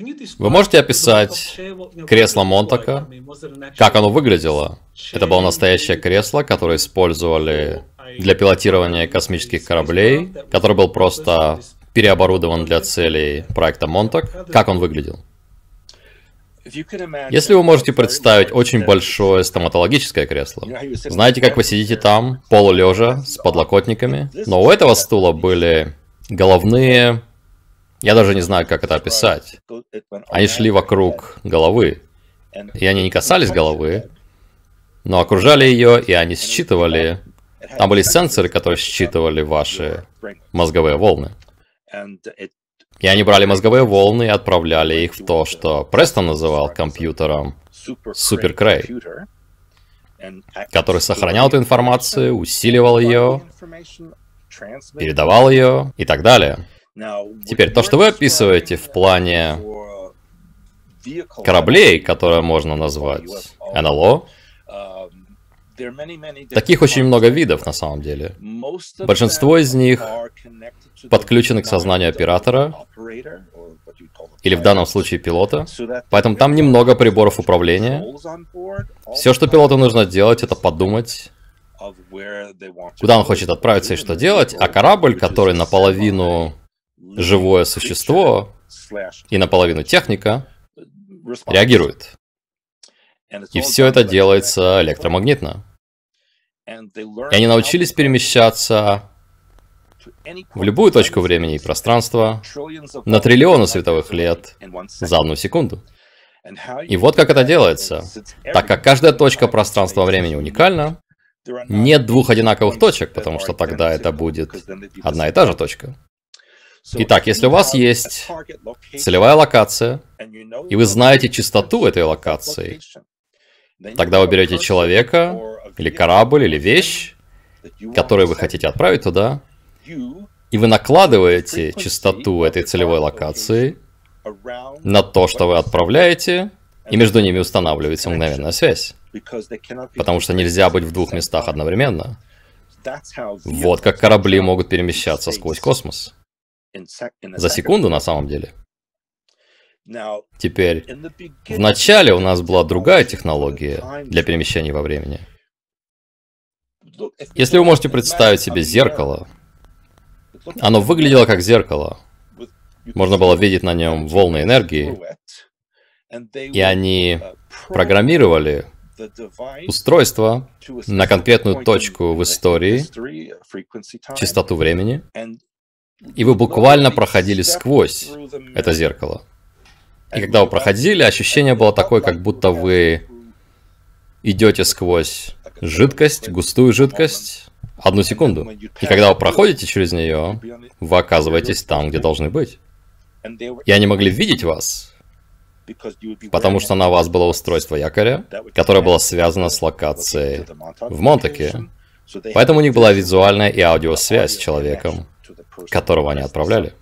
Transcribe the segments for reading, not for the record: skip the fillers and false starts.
Вы можете описать кресло Монтака, как оно выглядело? Это было настоящее кресло, которое использовали для пилотирования космических кораблей, который был просто переоборудован для целей проекта Монтак. Как он выглядел? Если вы можете представить очень большое стоматологическое кресло, знаете, как вы сидите там, полулежа, с подлокотниками, но у этого стула были головные... Я даже не знаю, как это описать. Они шли вокруг головы, и они не касались головы, но окружали ее, и они считывали... Там были сенсоры, которые считывали ваши мозговые волны. И они брали мозговые волны и отправляли их в то, что Престон называл компьютером Super Cray, который сохранял эту информацию, усиливал ее, передавал ее и так далее. Теперь, то, что вы описываете в плане кораблей, которые можно назвать НЛО, таких очень много видов на самом деле. Большинство из них подключены к сознанию оператора, или в данном случае пилота, поэтому там немного приборов управления. Все, что пилоту нужно делать, это подумать, куда он хочет отправиться и что делать, а корабль, который наполовину живое существо и наполовину техника, реагирует. И все это делается электромагнитно. И они научились перемещаться в любую точку времени и пространства на триллионы световых лет за 1 секунду. И вот как это делается. Так как каждая точка пространства-времени уникальна, нет двух одинаковых точек, потому что тогда это будет одна и та же точка. Итак, если у вас есть целевая локация, и вы знаете частоту этой локации, тогда вы берете человека, или корабль, или вещь, которую вы хотите отправить туда, и вы накладываете частоту этой целевой локации на то, что вы отправляете, и между ними устанавливается мгновенная связь. Потому что нельзя быть в двух местах одновременно. Вот как корабли могут перемещаться сквозь космос. За секунду на самом деле. Теперь, в начале у нас была другая технология для перемещения во времени. Если вы можете представить себе зеркало, оно выглядело как зеркало. Можно было видеть на нем волны энергии, и они программировали устройство на конкретную точку в истории, частоту времени, и вы буквально проходили сквозь это зеркало. И когда вы проходили, ощущение было такое, как будто вы идете сквозь жидкость, густую жидкость, 1 секунду. И когда вы проходите через нее, вы оказываетесь там, где должны быть. И они могли видеть вас, потому что на вас было устройство якоря, которое было связано с локацией в Монтаке. Поэтому у них была визуальная и аудиосвязь с человеком, которого они отправляли.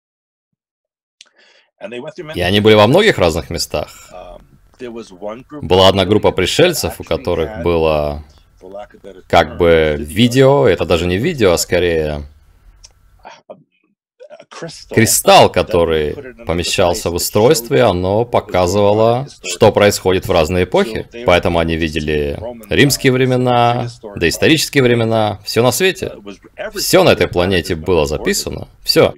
И они были во многих разных местах. Была одна группа пришельцев, у которых было как бы видео, это даже не видео, а скорее кристалл, который помещался в устройстве, оно показывало, что происходит в разные эпохи. Поэтому они видели римские времена, доисторические времена, все на свете. Все на этой планете было записано, все.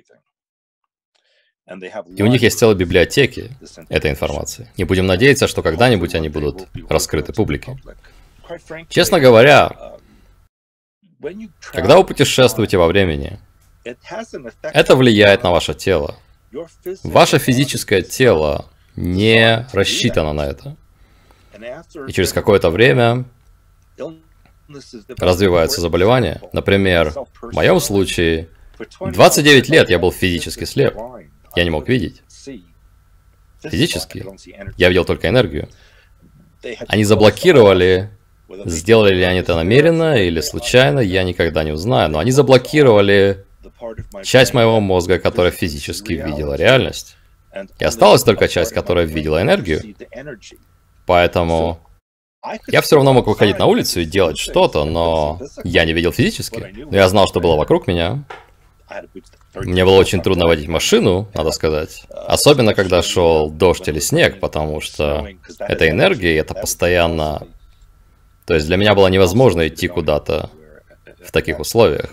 И у них есть целые библиотеки этой информации. И будем надеяться, что когда-нибудь они будут раскрыты публике. Честно говоря, когда вы путешествуете во времени, это влияет на ваше тело. Ваше физическое тело не рассчитано на это. И через какое-то время развиваются заболевания. Например, в моем случае, 29 лет я был физически слеп. Я не мог видеть. Физически. Я видел только энергию. Они заблокировали, сделали ли они это намеренно или случайно, я никогда не узнаю, но они заблокировали часть моего мозга, которая физически видела реальность. И осталась только часть, которая видела энергию. Поэтому я все равно мог выходить на улицу и делать что-то, но я не видел физически. Но я знал, что было вокруг меня. Мне было очень трудно водить машину, надо сказать. Особенно, когда шел дождь или снег, потому что это энергия, и это постоянно... То есть для меня было невозможно идти куда-то в таких условиях.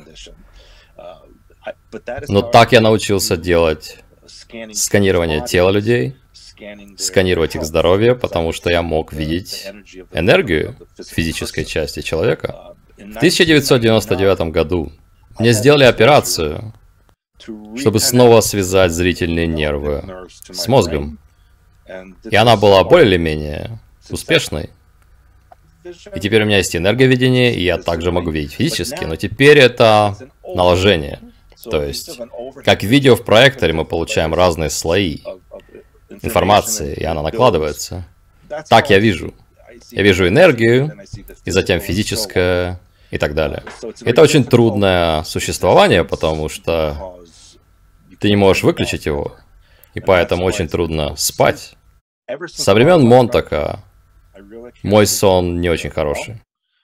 Но так я научился делать сканирование тела людей, сканировать их здоровье, потому что я мог видеть энергию физической части человека. В 1999 году мне сделали операцию, чтобы снова связать зрительные нервы с мозгом. И она была более или менее успешной. И теперь у меня есть энерговидение, и я также могу видеть физически, но теперь это наложение. То есть, как видео в проекторе, мы получаем разные слои информации, и она накладывается. Так я вижу. Я вижу энергию, и затем физическое, и так далее. Это очень трудное существование, потому что ты не можешь выключить его, и поэтому очень трудно спать. Со времен Монтака мой сон не очень хороший.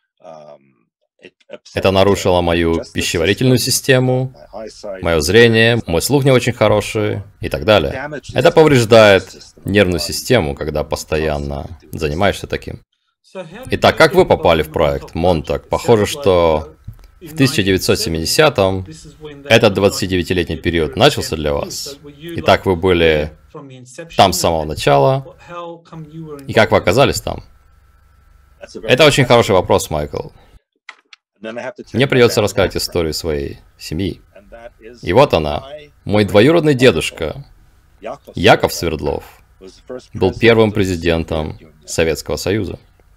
Это нарушило мою пищеварительную систему, мое зрение, мой слух не очень хороший и так далее. Это повреждает нервную систему, когда постоянно занимаешься таким. Итак, как вы попали в проект Монтак? Похоже, что в 1970-м этот 29-летний период начался для вас. Итак, вы были там с самого начала. И как вы оказались там? Это очень хороший вопрос, Майкл. Мне придется рассказать историю своей семьи. И вот она. Мой двоюродный дедушка, Яков Свердлов, был первым президентом Советского Союза.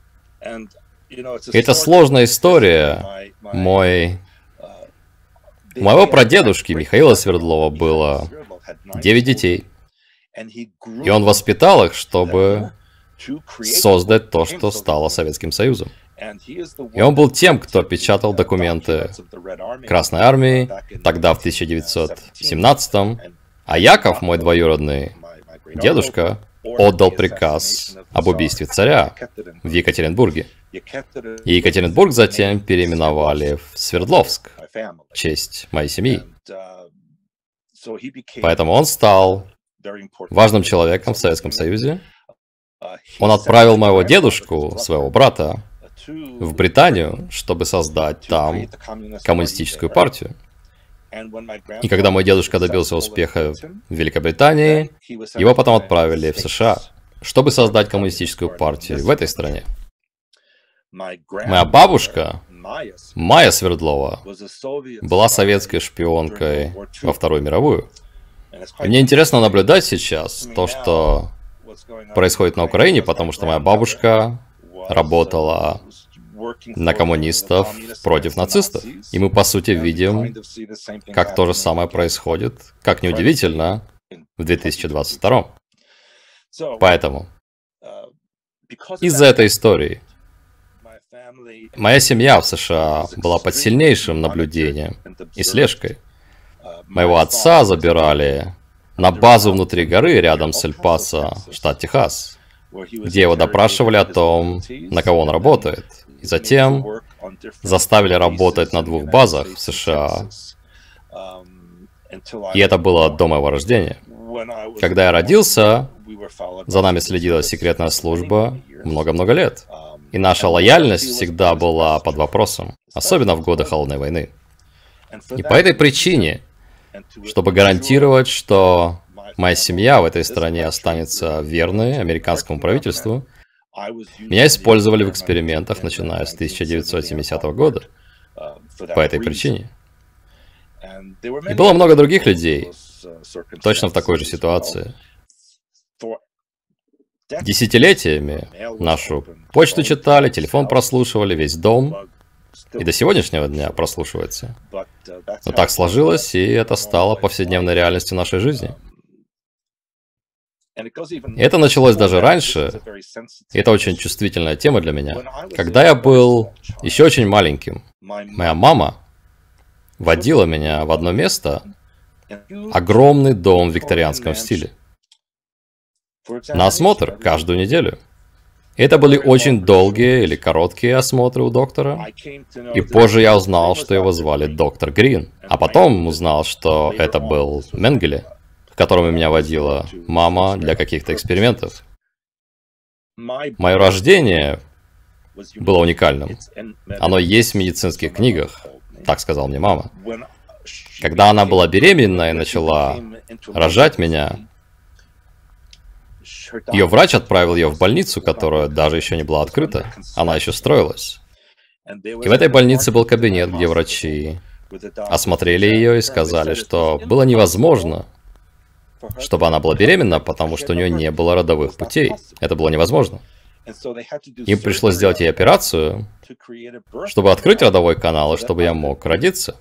Это сложная история. У моего прадедушки Михаила Свердлова было 9 детей. И он воспитал их, чтобы создать то, что стало Советским Союзом. И он был тем, кто печатал документы Красной Армии, тогда в 1917-м. А Яков, мой двоюродный дедушка, отдал приказ об убийстве царя в Екатеринбурге. И Екатеринбург затем переименовали в Свердловск в честь моей семьи. Поэтому он стал важным человеком в Советском Союзе. Он отправил моего дедушку, своего брата, в Британию, чтобы создать там коммунистическую партию. И когда мой дедушка добился успеха в Великобритании, его потом отправили в США, чтобы создать коммунистическую партию в этой стране. Моя бабушка, Майя Свердлова, была советской шпионкой во Вторую мировую. И мне интересно наблюдать сейчас то, что происходит на Украине, потому что моя бабушка работала на коммунистов против нацистов. И мы, по сути, видим, как то же самое происходит, как неудивительно, в 2022. Поэтому, из-за этой истории, моя семья в США была под сильнейшим наблюдением и слежкой. Моего отца забирали на базу внутри горы рядом с Эль-Пасо, штат Техас, где его допрашивали о том, на кого он работает. И затем заставили работать на 2 базах в США. И это было до моего рождения. Когда я родился, за нами следила секретная служба много-много лет. И наша лояльность всегда была под вопросом, особенно в годы Холодной войны. И по этой причине, чтобы гарантировать, что моя семья в этой стране останется верной американскому правительству, меня использовали в экспериментах, начиная с 1970 года. По этой причине. И было много других людей, точно в такой же ситуации. Десятилетиями нашу почту читали, телефон прослушивали, весь дом. И до сегодняшнего дня прослушивается. Но так сложилось, и это стало повседневной реальностью нашей жизни. И это началось даже раньше, и это очень чувствительная тема для меня. Когда я был еще очень маленьким, моя мама водила меня в одно место, огромный дом в викторианском стиле, на осмотр каждую неделю. Это были очень долгие или короткие осмотры у доктора. И позже я узнал, что его звали доктор Грин. А потом узнал, что это был Менгеле, к которому меня водила мама для каких-то экспериментов. Мое рождение было уникальным. Оно есть в медицинских книгах, так сказала мне мама. Когда она была беременна и начала рожать меня, ее врач отправил ее в больницу, которая даже еще не была открыта. Она еще строилась. И в этой больнице был кабинет, где врачи осмотрели ее и сказали, что было невозможно, чтобы она была беременна, потому что у нее не было родовых путей. Это было невозможно. Им пришлось сделать ей операцию, чтобы открыть родовой канал, и чтобы я мог родиться.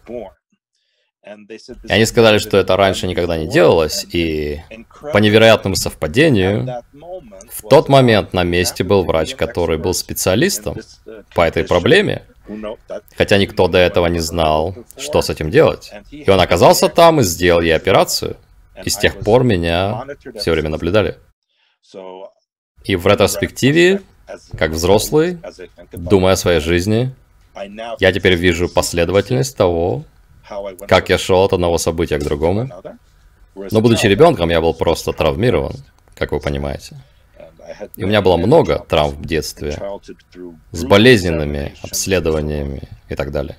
И они сказали, что это раньше никогда не делалось, и по невероятному совпадению, в тот момент на месте был врач, который был специалистом по этой проблеме, хотя никто до этого не знал, что с этим делать. И он оказался там и сделал ей операцию. И с тех пор меня все время наблюдали. И в ретроспективе, как взрослый, думая о своей жизни, я теперь вижу последовательность того, как я шел от одного события к другому. Но будучи ребенком, я был просто травмирован, как вы понимаете. И у меня было много травм в детстве, с болезненными обследованиями и так далее.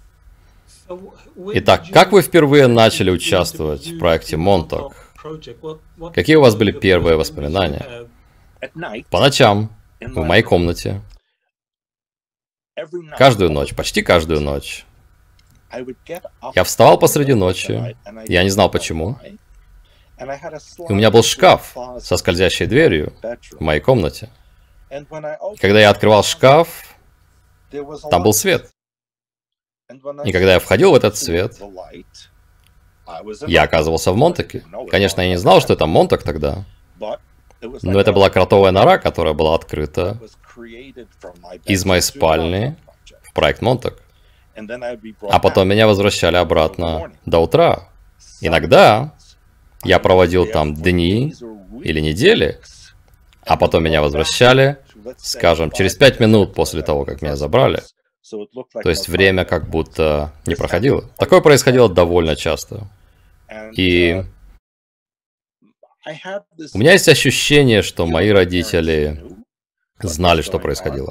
Итак, как вы впервые начали участвовать в проекте Montauk? Какие у вас были первые воспоминания? По ночам, в моей комнате. Каждую ночь, почти каждую ночь. Я вставал посреди ночи, я не знал почему. И у меня был шкаф со скользящей дверью в моей комнате. И когда я открывал шкаф, там был свет. И когда я входил в этот свет, я оказывался в Монтаке. Конечно, я не знал, что это Монтак тогда. Но это была кротовая нора, которая была открыта из моей спальни в проект Монтак. А потом меня возвращали обратно до утра. Иногда я проводил там дни или недели, а потом меня возвращали, скажем, через 5 минут после того, как меня забрали. То есть время как будто не проходило. Такое происходило довольно часто. И у меня есть ощущение, что мои родители знали, что происходило.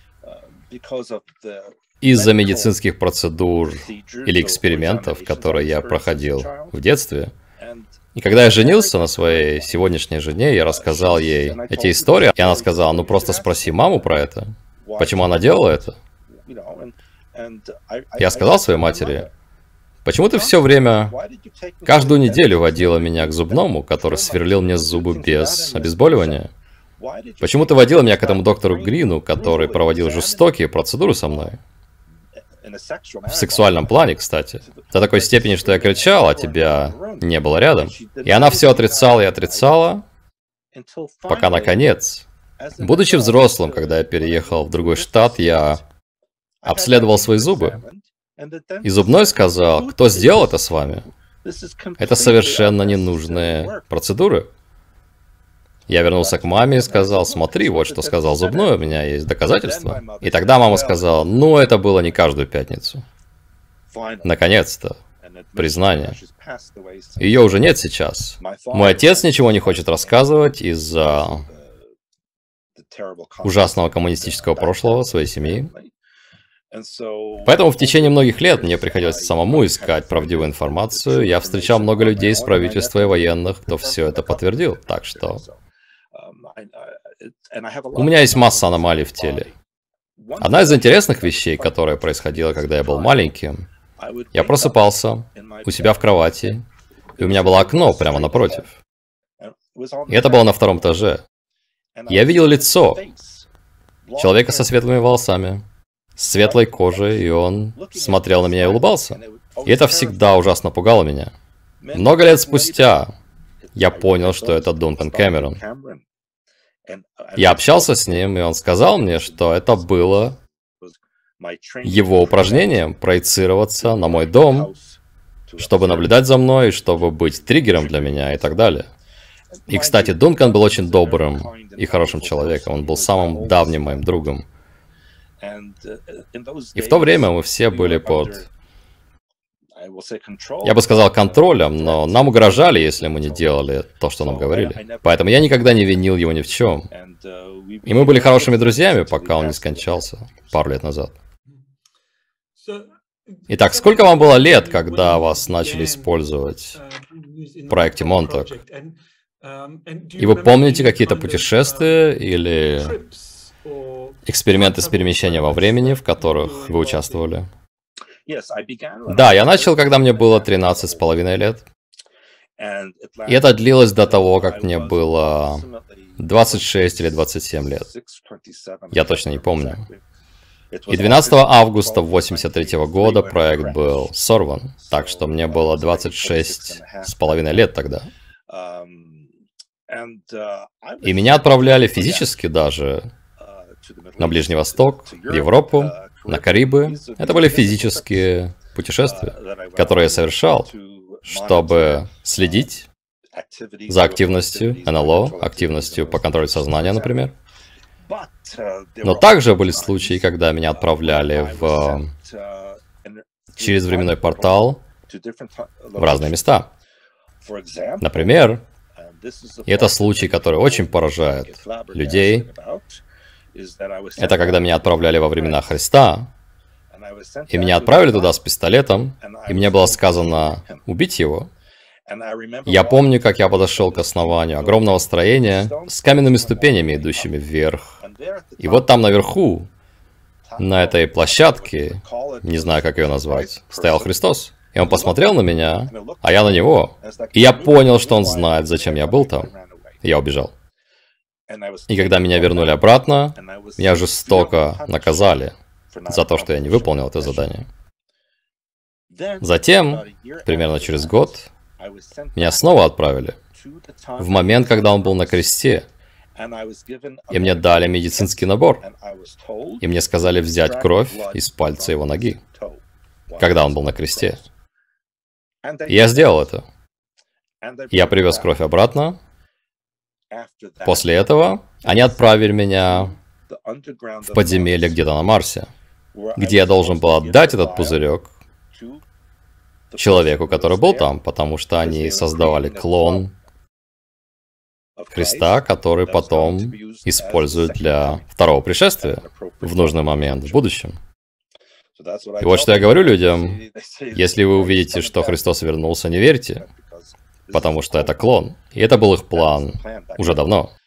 Из-за медицинских процедур или экспериментов, которые я проходил в детстве. И когда я женился на своей сегодняшней жене, я рассказал ей эти истории, и она сказала, ну просто спроси маму про это. Почему она делала это? Я сказал своей матери, почему ты все время, каждую неделю водила меня к зубному, который сверлил мне зубы без обезболивания? Почему ты водила меня к этому доктору Грину, который проводил жестокие процедуры со мной? В сексуальном плане, кстати. До такой степени, что я кричал, а тебя не было рядом. И она все отрицала и отрицала, пока наконец, будучи взрослым, когда я переехал в другой штат, я обследовал свои зубы. И зубной сказал, кто сделал это с вами? Это совершенно ненужные процедуры. Я вернулся к маме и сказал, смотри, вот что сказал зубной, у меня есть доказательства. И тогда мама сказала, ну это было не каждую пятницу. Наконец-то. Признание. Ее уже нет сейчас. Мой отец ничего не хочет рассказывать из-за ужасного коммунистического прошлого своей семьи. Поэтому в течение многих лет мне приходилось самому искать правдивую информацию. Я встречал много людей из правительства и военных, кто все это подтвердил. Так что у меня есть масса аномалий в теле. Одна из интересных вещей, которая происходила, когда я был маленьким, я просыпался у себя в кровати, и у меня было окно прямо напротив. И это было на 2-м этаже. Я видел лицо человека со светлыми волосами, с светлой кожей, и он смотрел на меня и улыбался. И это всегда ужасно пугало меня. Много лет спустя я понял, что это Дункан Кэмерон. Я общался с ним, и он сказал мне, что это было его упражнением проецироваться на мой дом, чтобы наблюдать за мной, чтобы быть триггером для меня и так далее. И, кстати, Дункан был очень добрым и хорошим человеком. Он был самым давним моим другом. И в то время мы все были под, я бы сказал, контролем, но нам угрожали, если мы не делали то, что нам говорили. Поэтому я никогда не винил его ни в чем. И мы были хорошими друзьями, пока он не скончался пару лет назад. Итак, сколько вам было лет, когда вас начали использовать в проекте Montauk? И вы помните какие-то путешествия или эксперименты с перемещением во времени, в которых вы участвовали? Да, я начал, когда мне было 13,5 лет. И это длилось до того, как мне было 26 или 27 лет. Я точно не помню. И 12 августа 1983 года проект был сорван, так что мне было 26,5 лет тогда. И меня отправляли физически даже на Ближний Восток, в Европу, на Карибы. Это были физические путешествия, которые я совершал, чтобы следить за активностью НЛО, активностью по контролю сознания, например. Но также были случаи, когда меня отправляли через временной портал в разные места. Например, и это случай, который очень поражает людей, это когда меня отправляли во времена Христа, и меня отправили туда с пистолетом, и мне было сказано убить его. Я помню, как я подошел к основанию огромного строения с каменными ступенями, идущими вверх. И вот там наверху, на этой площадке, не знаю, как ее назвать, стоял Христос. И он посмотрел на меня, а я на него. И я понял, что он знает, зачем я был там. И я убежал. И когда меня вернули обратно, меня жестоко наказали за то, что я не выполнил это задание. Затем, примерно через год, меня снова отправили в момент, когда он был на кресте. И мне дали медицинский набор. И мне сказали взять кровь из пальца его ноги, когда он был на кресте. И я сделал это. Я привез кровь обратно. После этого они отправили меня в подземелье где-то на Марсе, где я должен был отдать этот пузырек человеку, который был там, потому что они создавали клон Христа, который потом используют для второго пришествия в нужный момент в будущем. И вот что я говорю людям: если вы увидите, что Христос вернулся, не верьте, потому что это клон. И это был их план уже давно.